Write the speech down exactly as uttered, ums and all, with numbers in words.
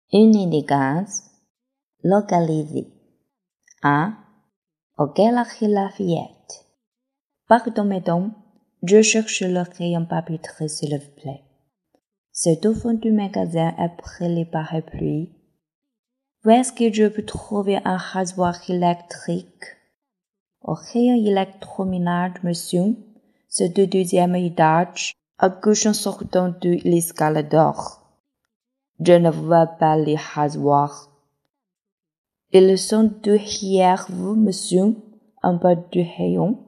Unité de gaz, localisé. un. Auquel la fillette. Pardon, mesdames, je cherche le rayon papeterie, s'il vous plaît. C'est au fond du magasin après les parapluies. Où est-ce que je peux trouver un rasoir électrique? Au rayon électroménage, monsieur, c'est le deuxième étage, à gauche en sortant de l'escalator. Je ne vois pas les rasoirs. Ils sont derrière vous, monsieur, en bas du rayon.